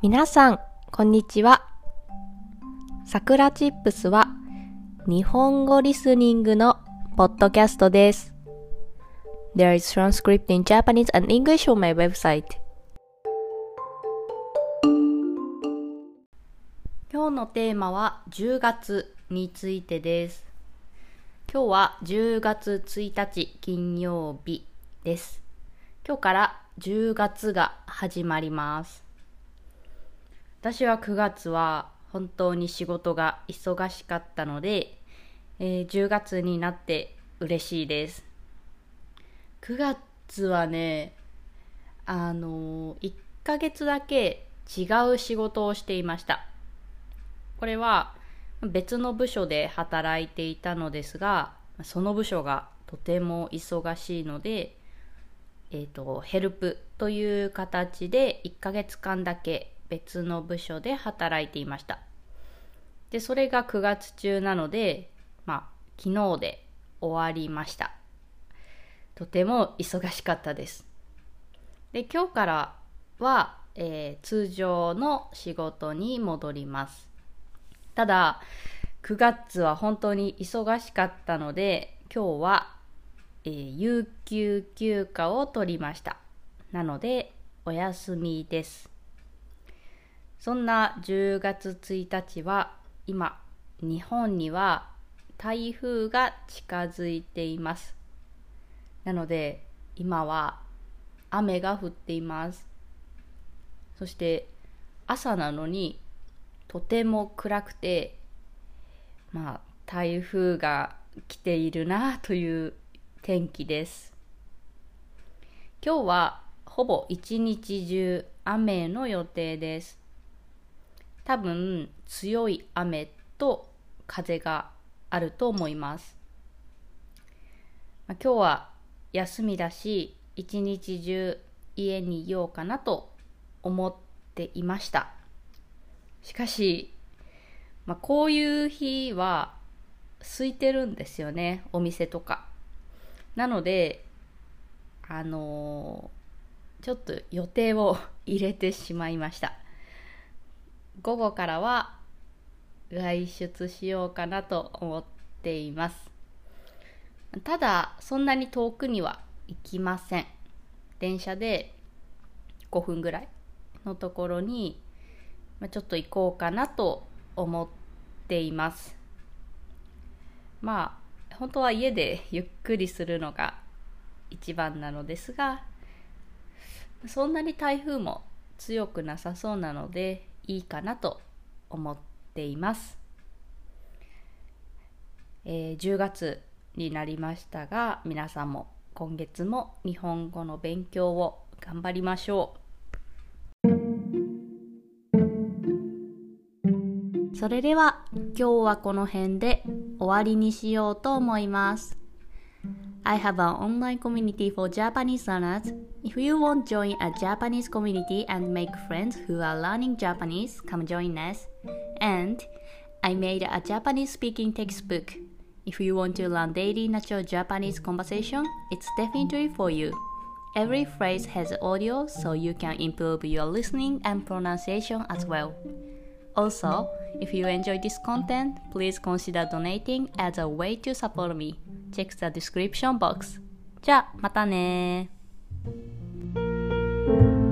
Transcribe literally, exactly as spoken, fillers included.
皆さん、こんにちは。さくらチップスは日本語リスニングのポッドキャストです。There is transcript in Japanese and English on my website. 今日のテーマはじゅうがつについてです。今日はじゅうがつついたち金曜日です。今日からじゅうがつが始まります。私はくがつは本当に仕事が忙しかったので、えー、じゅうがつになって嬉しいです。くがつはね、あのー、いっかげつだけ違う仕事をしていました。これは別の部署で働いていたのですが、その部署がとても忙しいので、えーと、ヘルプという形でいっかげつかんだけ別の部署で働いていました。で、それがくがつ中なので、まあ、昨日で終わりました。とても忙しかったです。で、今日からは、えー、通常の仕事に戻ります。ただ、くがつは本当に忙しかったので、今日は、えー、有給休暇を取りました。なので、お休みです。そんなじゅうがつついたちは今日本には台風が近づいています。なので今は雨が降っています。そして朝なのにとても暗くて、まあ台風が来ているなという天気です。今日はほぼ一日中雨の予定です。多分強い雨と風があると思います。まあ、今日は休みだし、一日中家にいようかなと思っていました。しかし、まあ、こういう日は空いてるんですよね、お店とか。なので、あのー、ちょっと予定を入れてしまいました。午後からは外出しようかなと思っています。ただそんなに遠くには行きません。電車でごふんぐらいのところにちょっと行こうかなと思っています。まあ本当は家でゆっくりするのが一番なのですが、そんなに台風も強くなさそうなのでいいかなと思っています。えー、じゅうがつになりましたが、皆さんも今月も日本語の勉強を頑張りましょう。それでは今日はこの辺で終わりにしようと思います。I have an online community for Japanese learners. If you want to join a Japanese community and make friends who are learning Japanese, come join us. And I made a Japanese speaking textbook. If you want to learn daily natural Japanese conversation, it's definitely for you. Every phrase has audio, so you can improve your listening and pronunciation as well. Also, if you enjoy this content, please consider donating as a way to support me. Check the description box. じゃあまたね。